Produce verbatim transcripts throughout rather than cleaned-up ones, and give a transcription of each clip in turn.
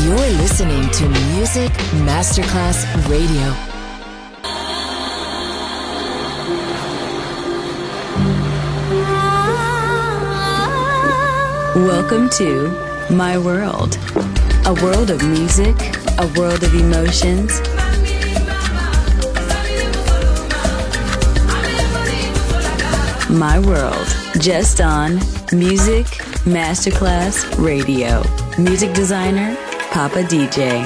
You're listening to Music Masterclass Radio. Welcome to My World, a world of music, a world of emotions. My World, just on Music Masterclass Radio. Music designer, Papa D J.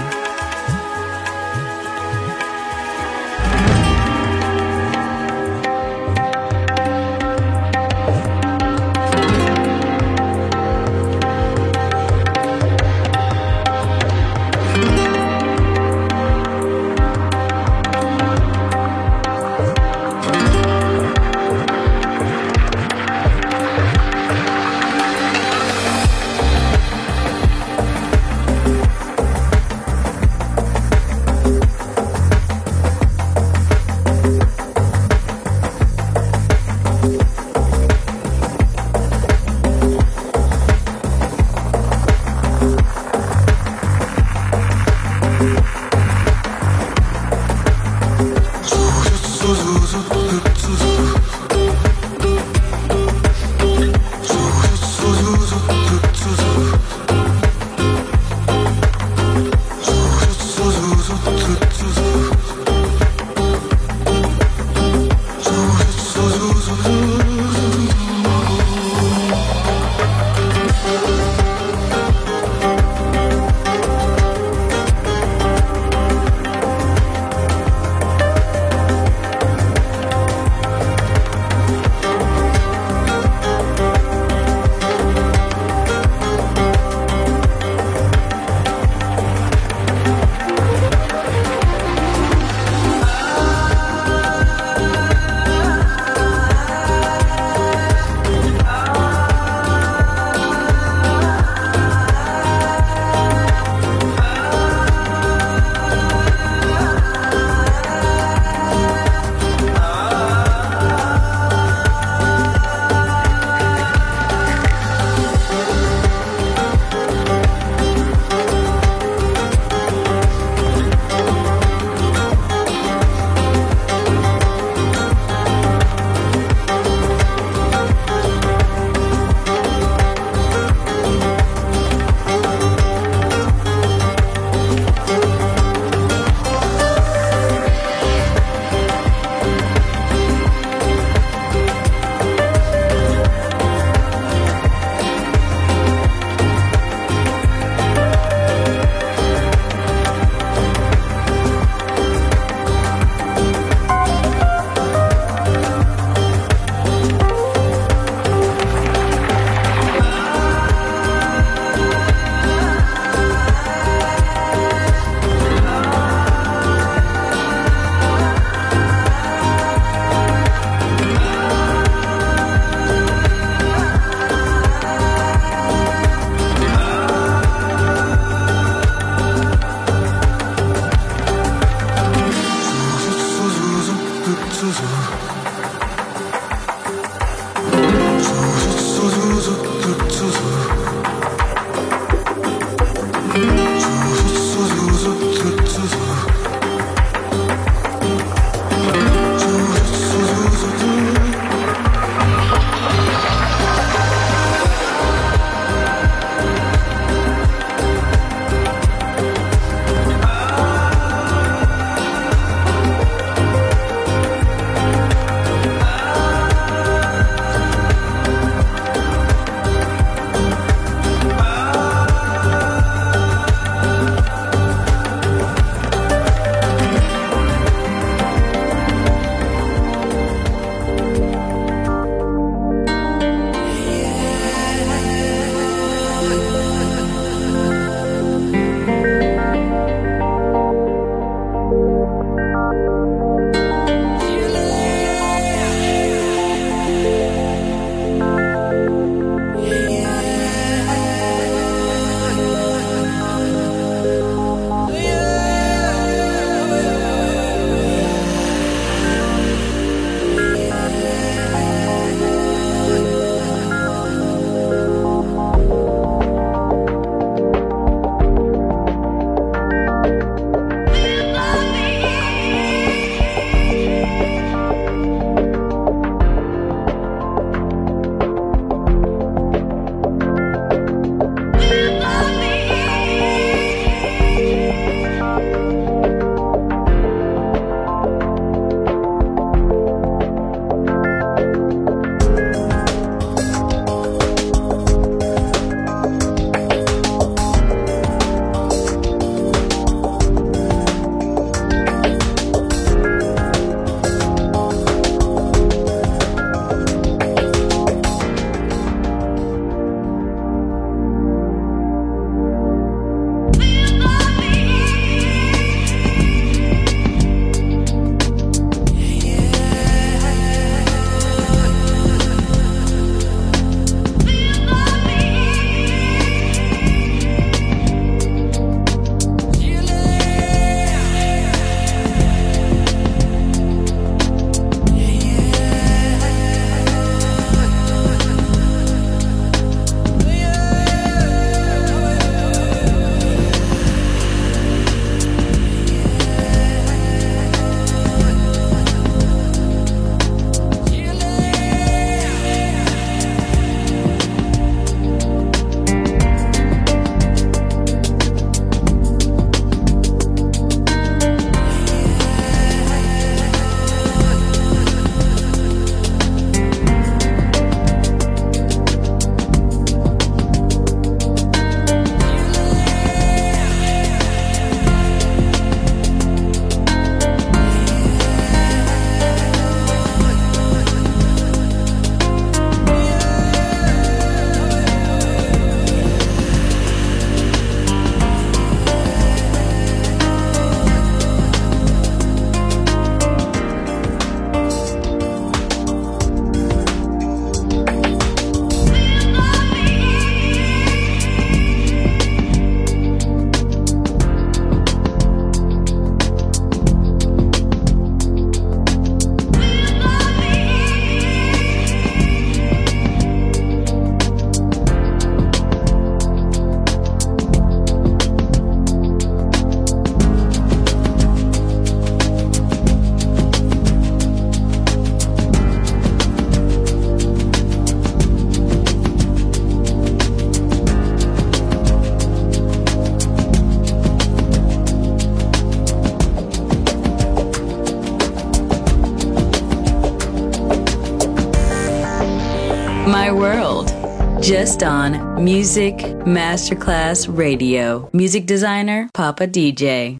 world. Just on Music Masterclass Radio. Music designer, Papa D J.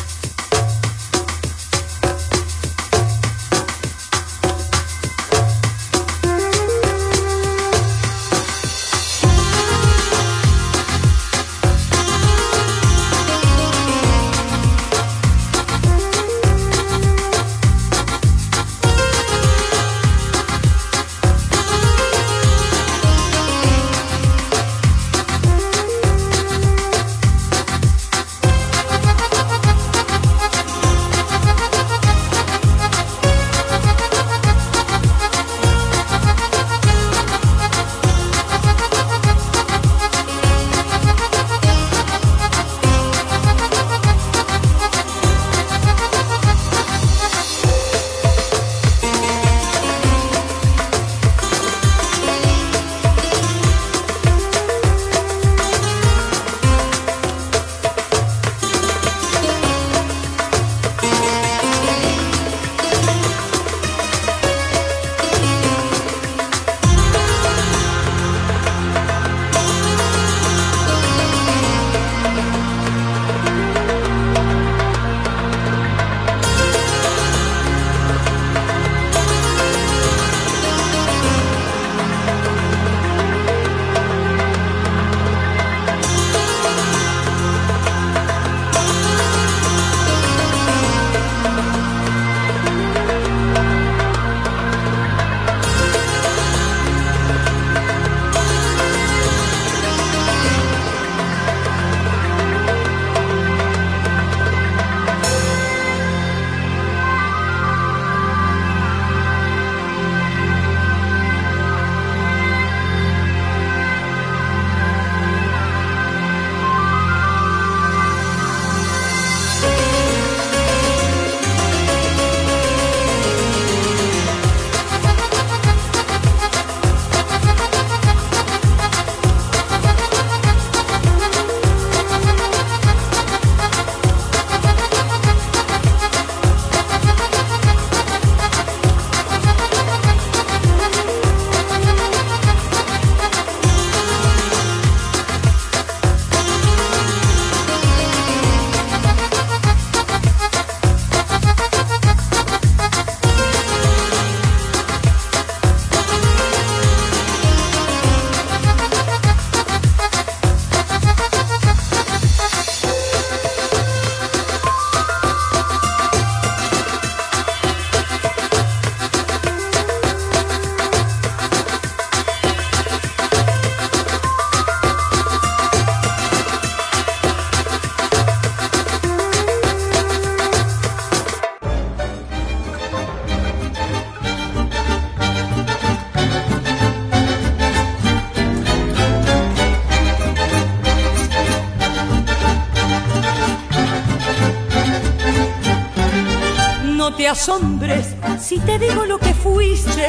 te asombres si te digo lo que fuiste,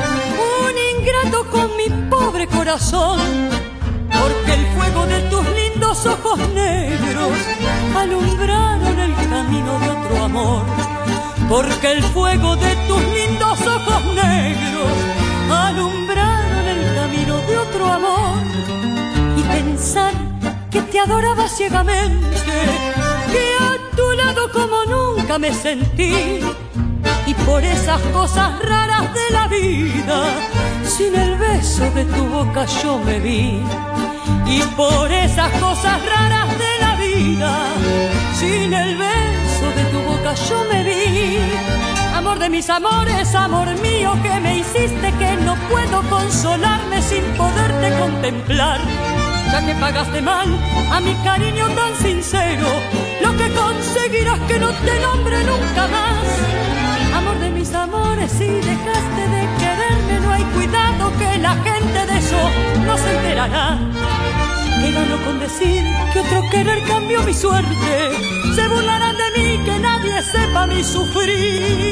un ingrato con mi pobre corazón, porque el fuego de tus lindos ojos negros alumbraron el camino de otro amor, porque el fuego de tus lindos ojos negros alumbraron el camino de otro amor. Y pensar que te adoraba ciegamente, que a tu lado como nunca me sentí, y por esas cosas raras de la vida, sin el beso de tu boca yo me vi. Y por esas cosas raras de la vida, sin el beso de tu boca yo me vi. Amor de mis amores, amor mío, que me hiciste que no puedo consolarme sin poderte contemplar. Ya que pagaste mal a mi cariño tan sincero, lo que conseguirás que no te nombre nunca más. Amor de mis amores, si dejaste de quererme, no hay cuidado que la gente de eso no se enterará. Que gano con decir que otro querer cambió mi suerte, se burlarán de mí, que nadie sepa mi sufrir.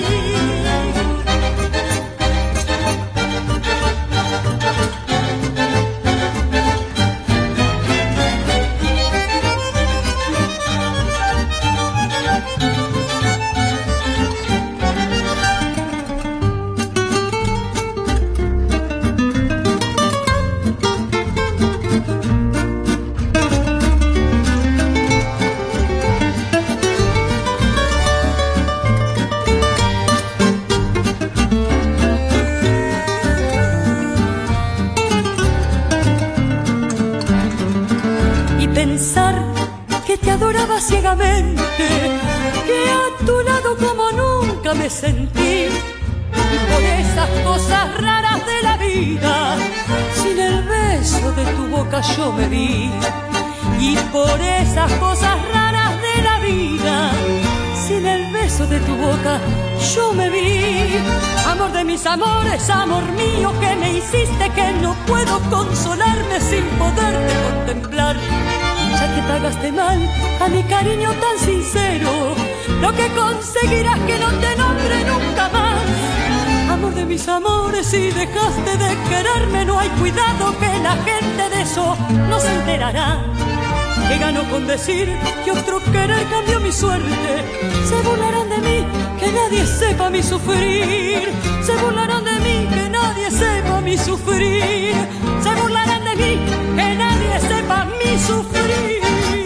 pensar que te adoraba ciegamente, que a tu lado como nunca me sentí. Y por esas cosas raras de la vida, sin el beso de tu boca yo me vi. Y por esas cosas raras de la vida, sin el beso de tu boca yo me vi. Amor de mis amores, amor mío, que me hiciste que no puedo consolarme sin poderte contemplar. Ya que pagaste mal a mi cariño tan sincero, lo que conseguirás que no te nombre nunca más. Amor de mis amores, si dejaste de quererme, no hay cuidado que la gente de eso no se enterará. Que gano con decir que otro querer cambió mi suerte. Se burlarán de mí, que nadie sepa mi sufrir. Se burlarán de mí, que nadie sepa mi sufrir. Se burlarán de mí, que nadie sepa mi sufrir.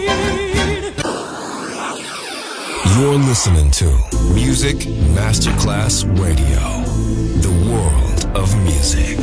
You're listening to Music Masterclass Radio, the world of music.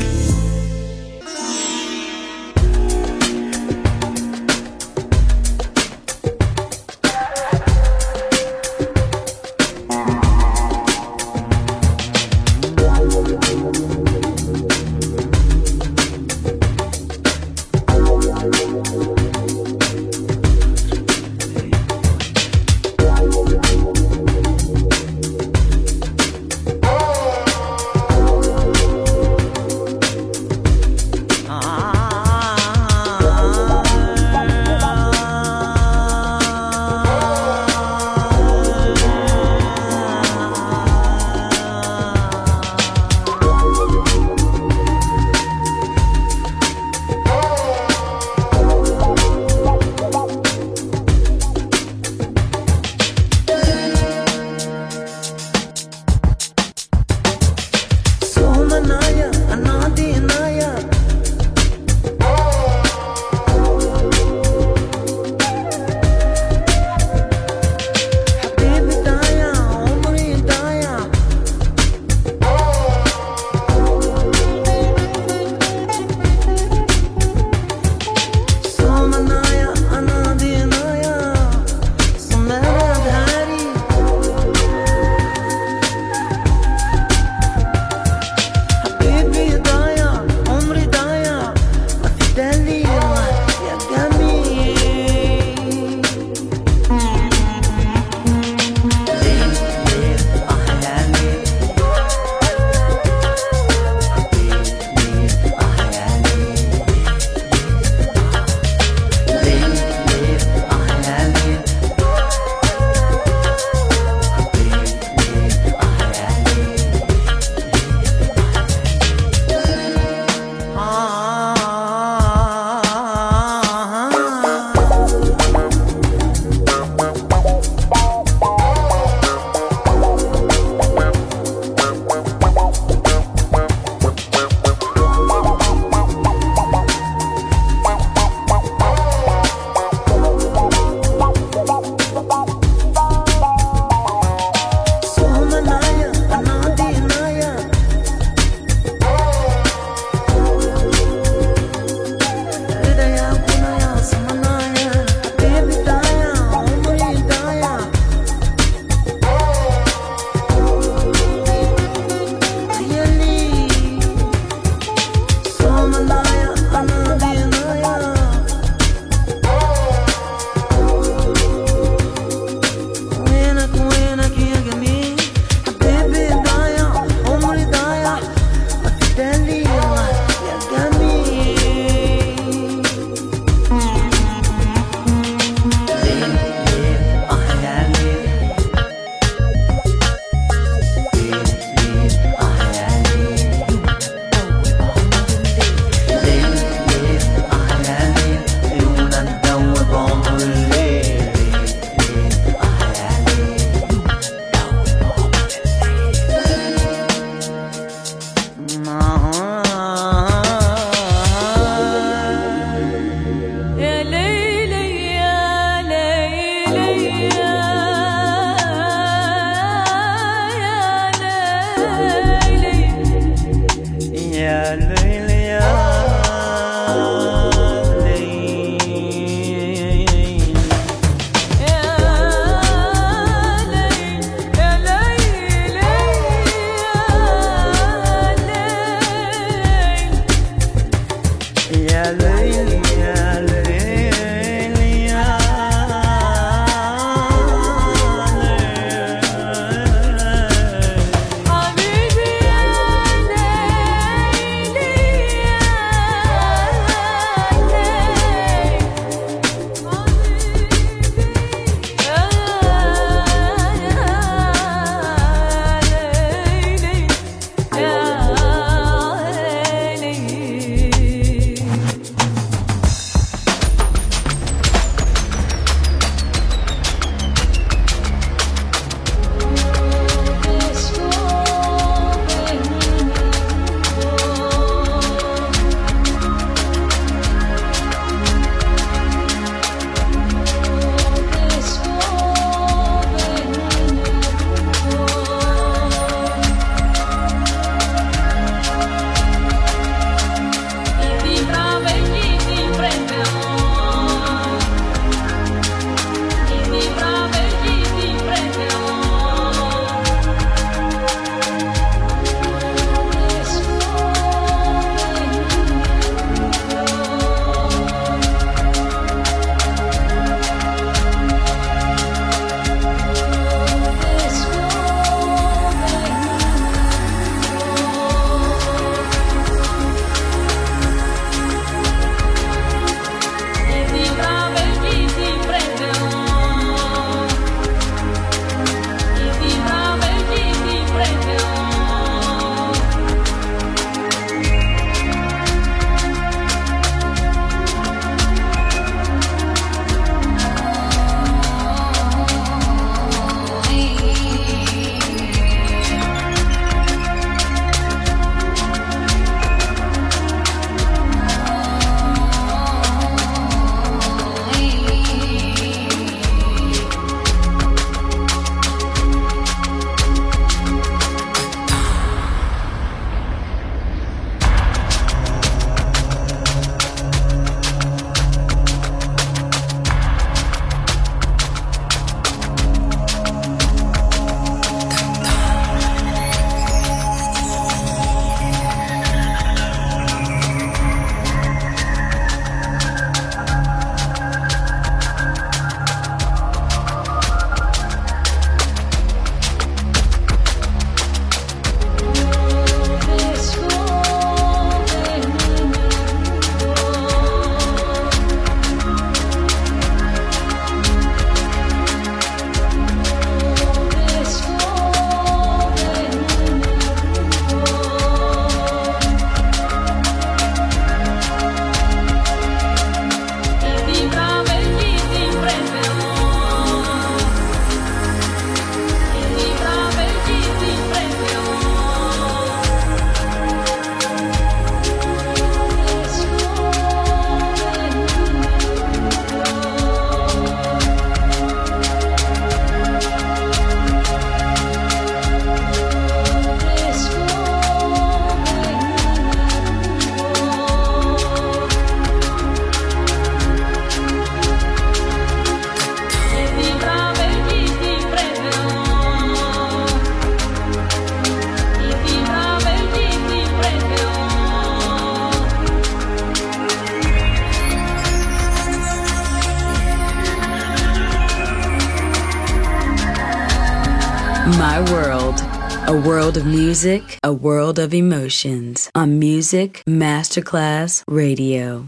My world. A world of music, a world of emotions. On Music Masterclass Radio.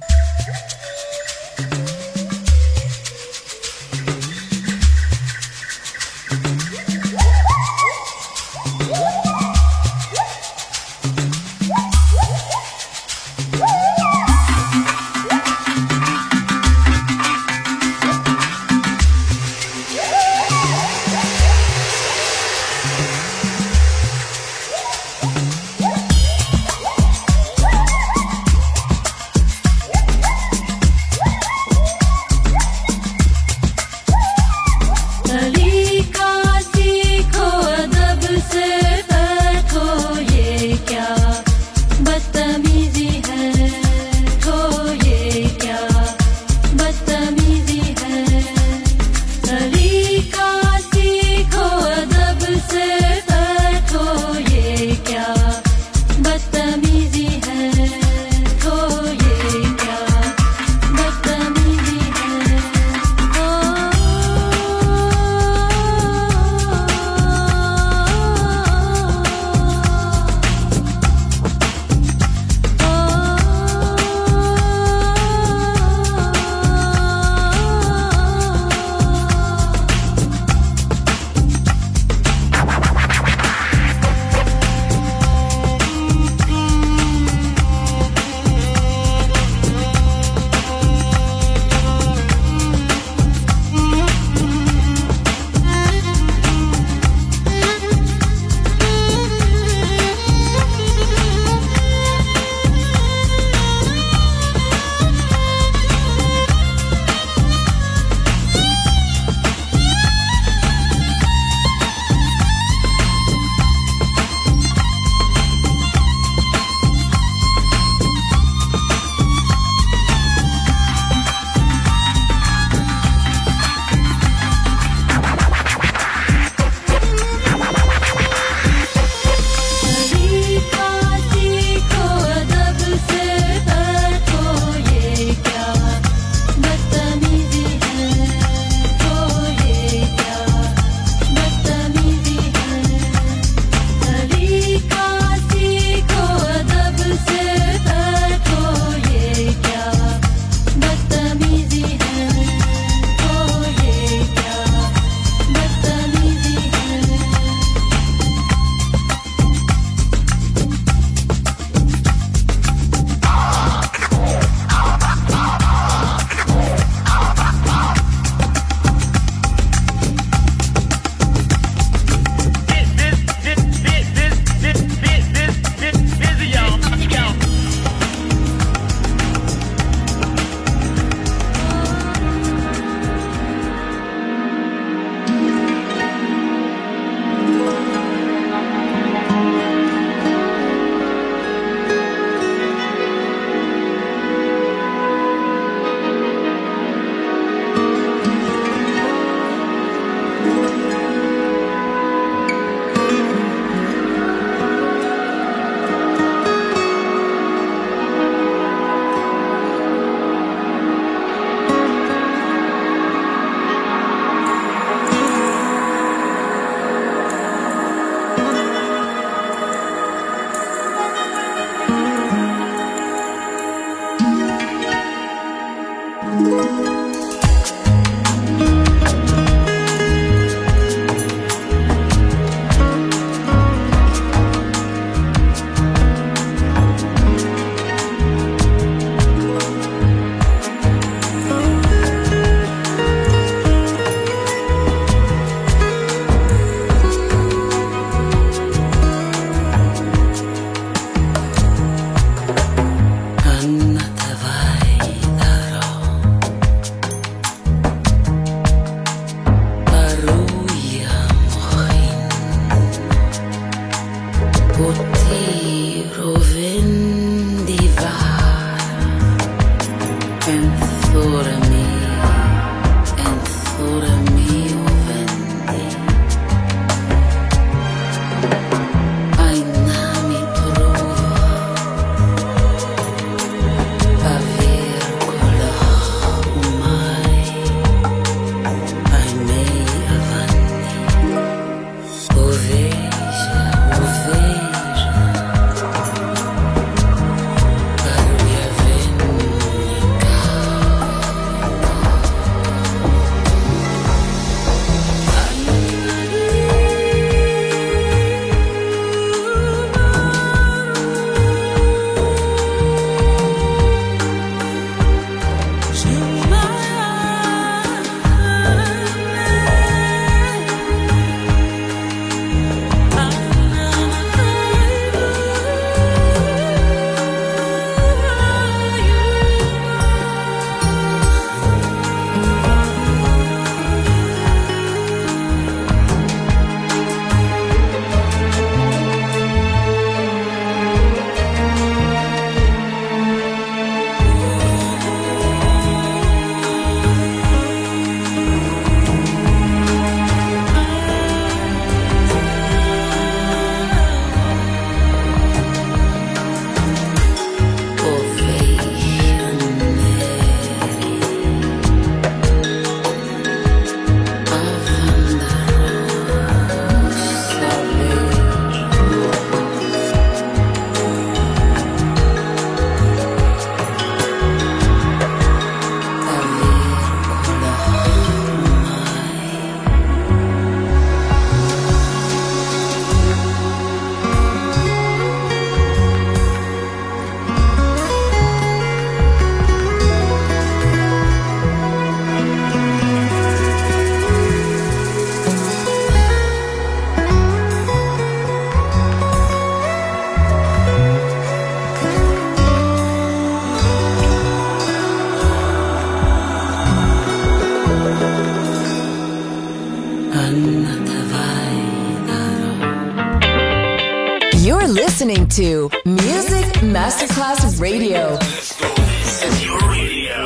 listening to Music Masterclass Radio. This is your radio.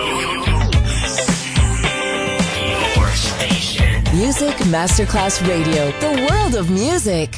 Your station. Music Masterclass Radio. The world of music.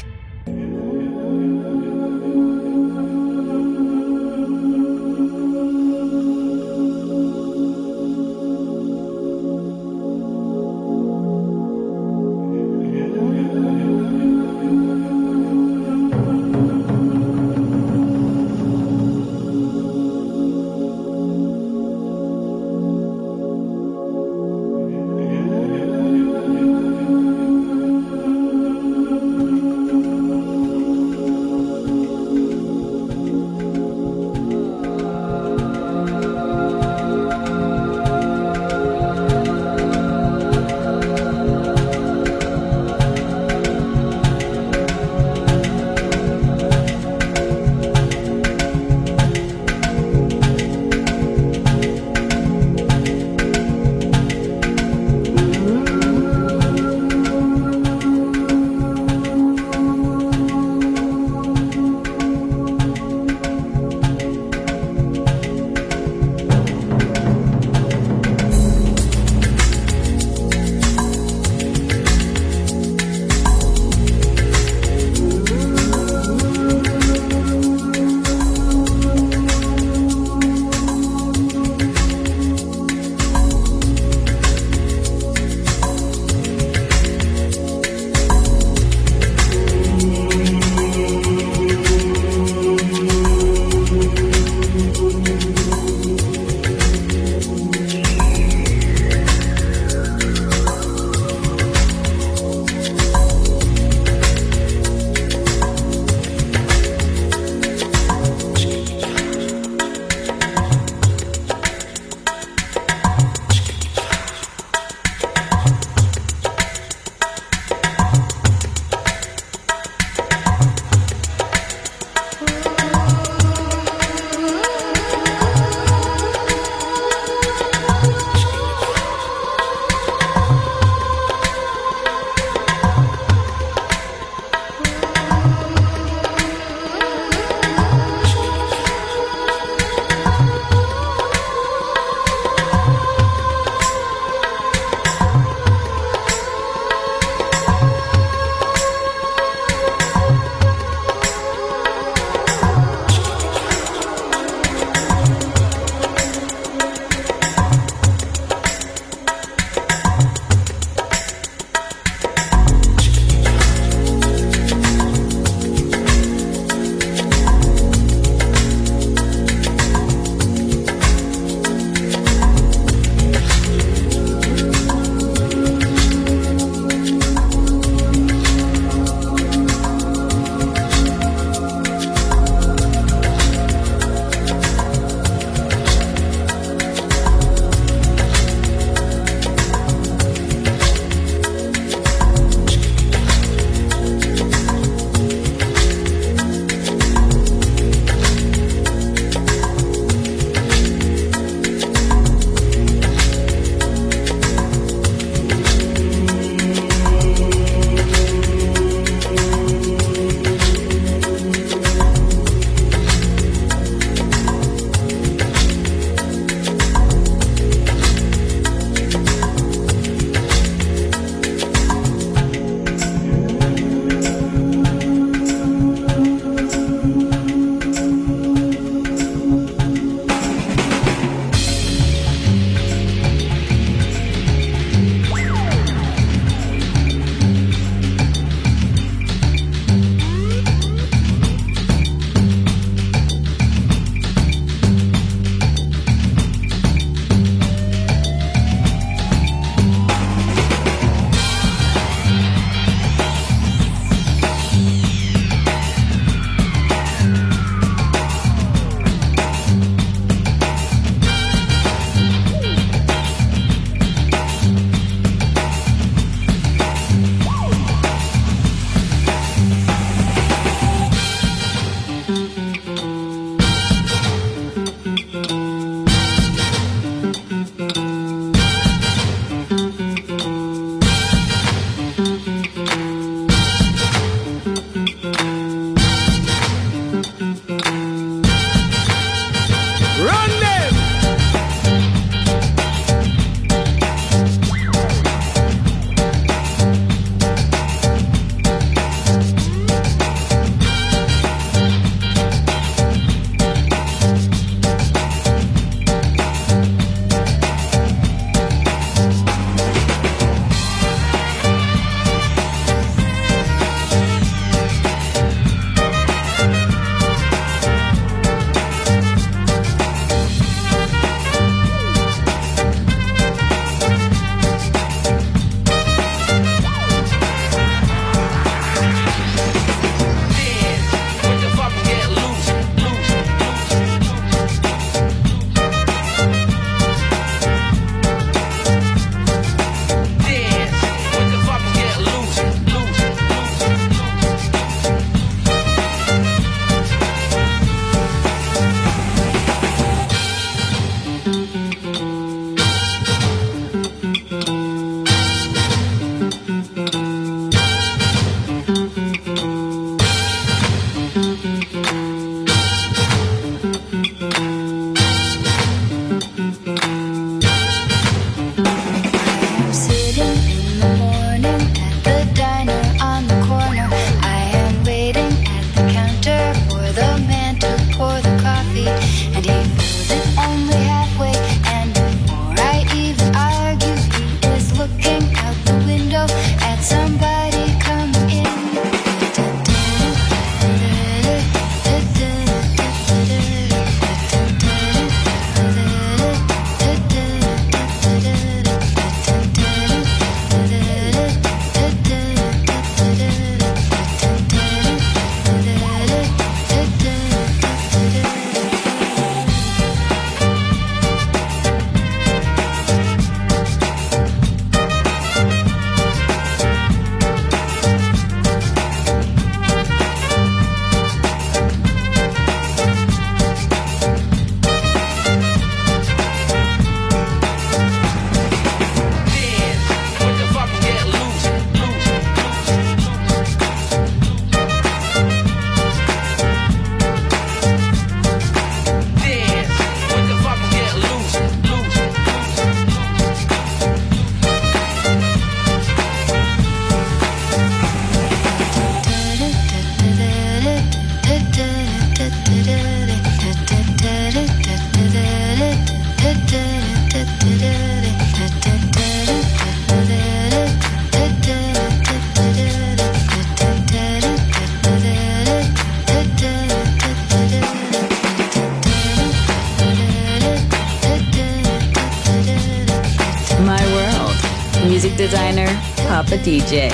Music designer, Papa D J.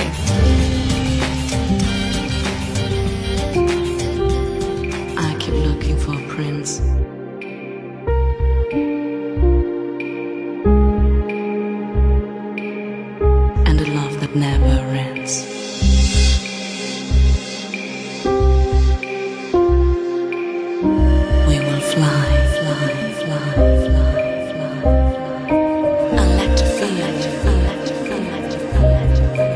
I keep looking for a prince. And a love that never ends. We will fly, fly, fly, fly, fly, fly. I like to feel, I like to feel, I like to feel, I like to feel, I like to feel.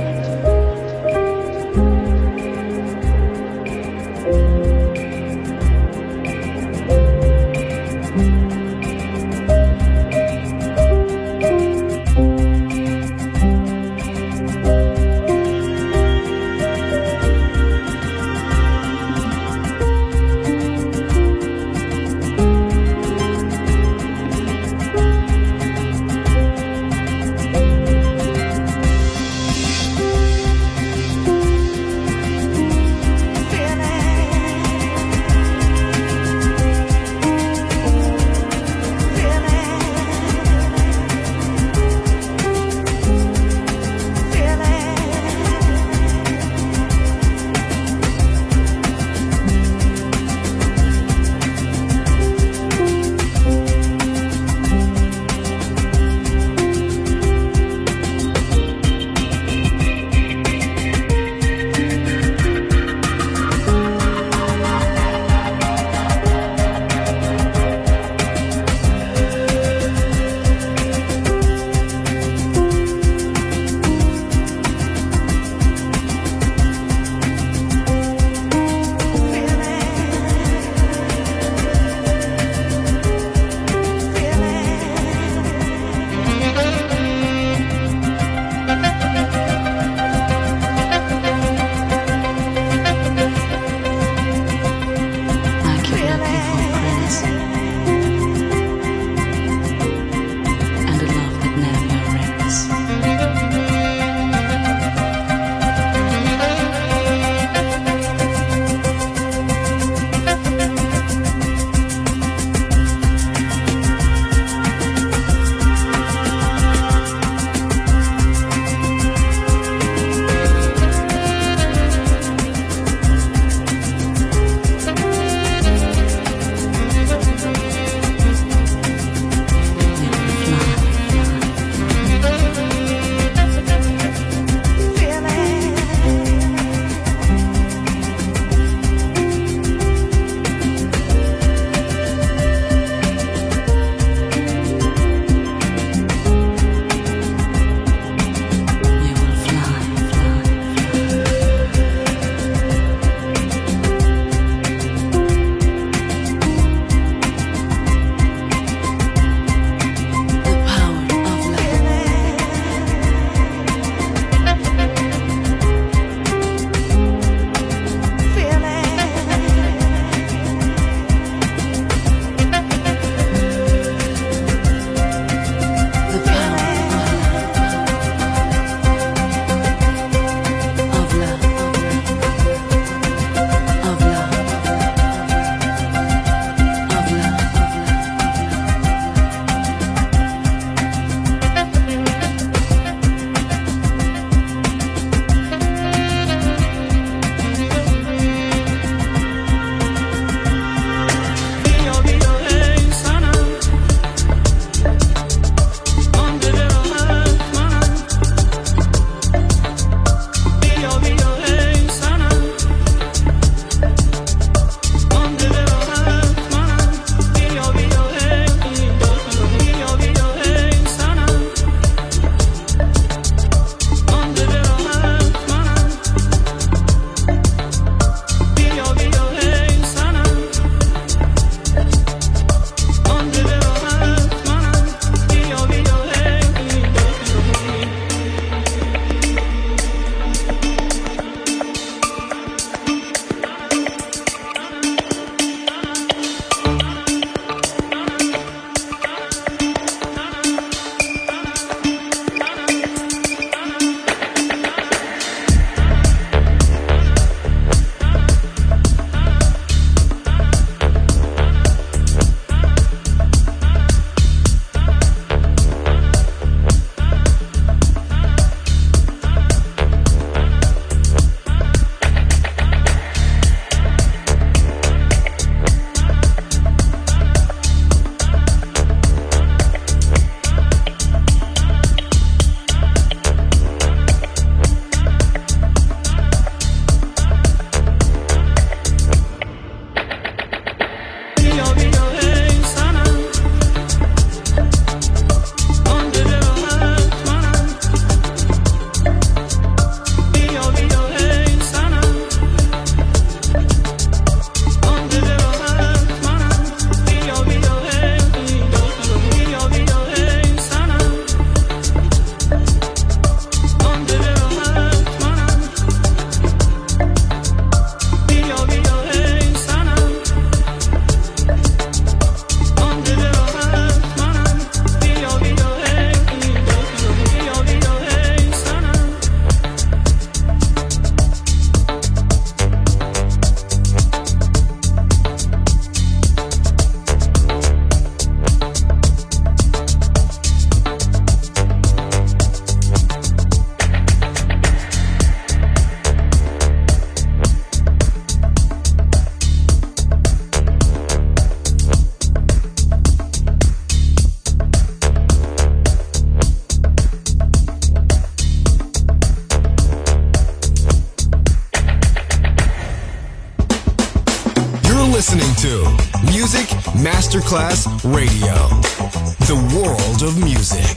to Music Masterclass Radio, the world of music.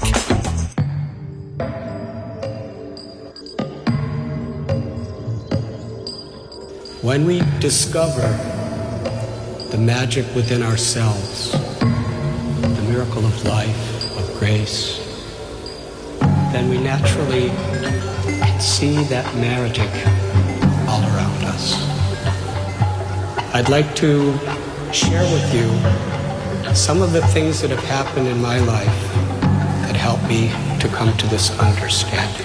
When we discover the magic within ourselves, the miracle of life, of grace, then we naturally can see that magic all around us. I'd like to share with you some of the things that have happened in my life that helped me to come to this understanding.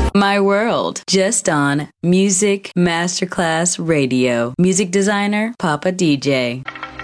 My World, just on Music Masterclass Radio. Music designer, Papa D J.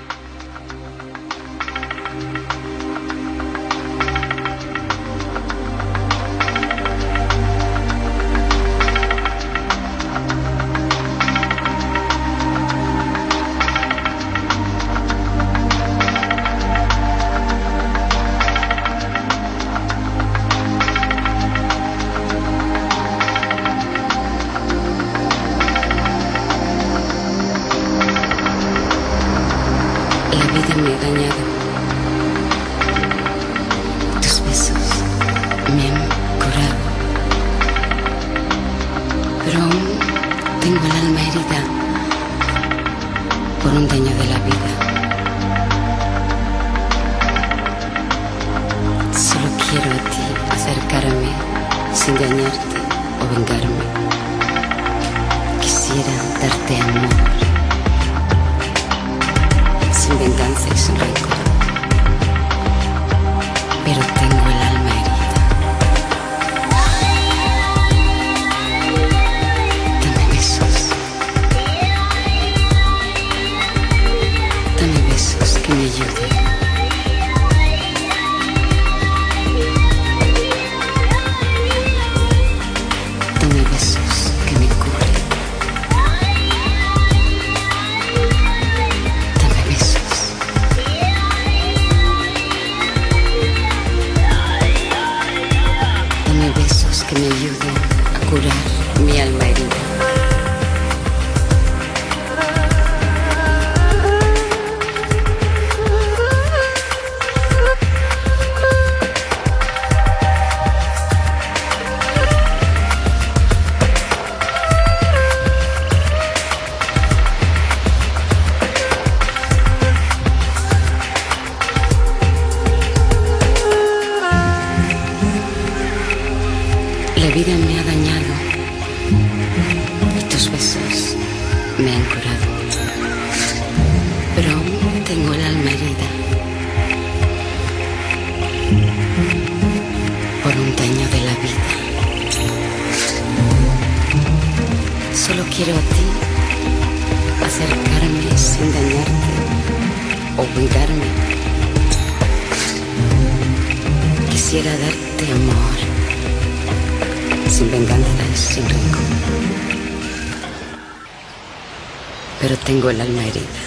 Tengo el alma herida.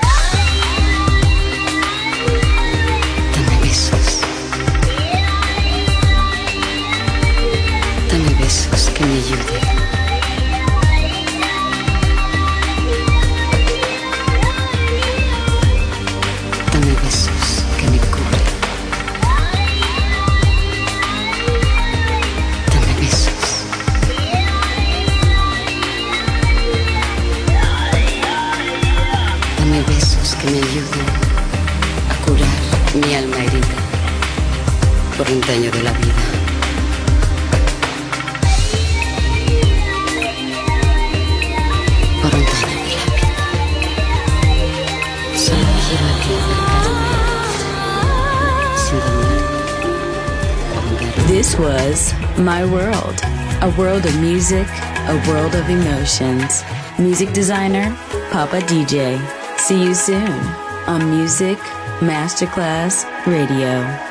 Dame besos. Dame besos que me ayuden. Dame besos que me cubren. Dame besos. Dame besos que me ayuden a curar mi alma herida por un daño de la vida. Por un daño de la vida. Solo quiero a ti acercarme sin dañarte o vengarme. This was My World, a world of music, a world of emotions. Music designer, Papa D J. See you soon on Music Masterclass Radio.